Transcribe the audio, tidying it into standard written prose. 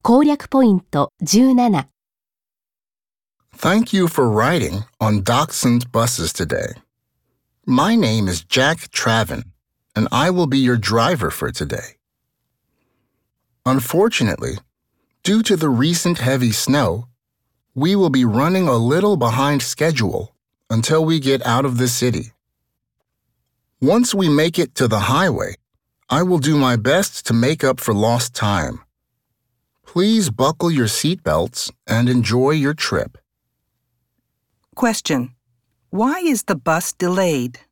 攻略ポイント17。 Thank you for riding on Dachshund buses today. My name is Jack Travin, and I will be your driver for today. Unfortunately, due to the recent heavy snow, we will be running a little behind schedule until we get out of the city. Once we make it to the highway, I will do my best to make up for lost time. Please buckle your seatbelts and enjoy your trip. Question: Why is the bus delayed?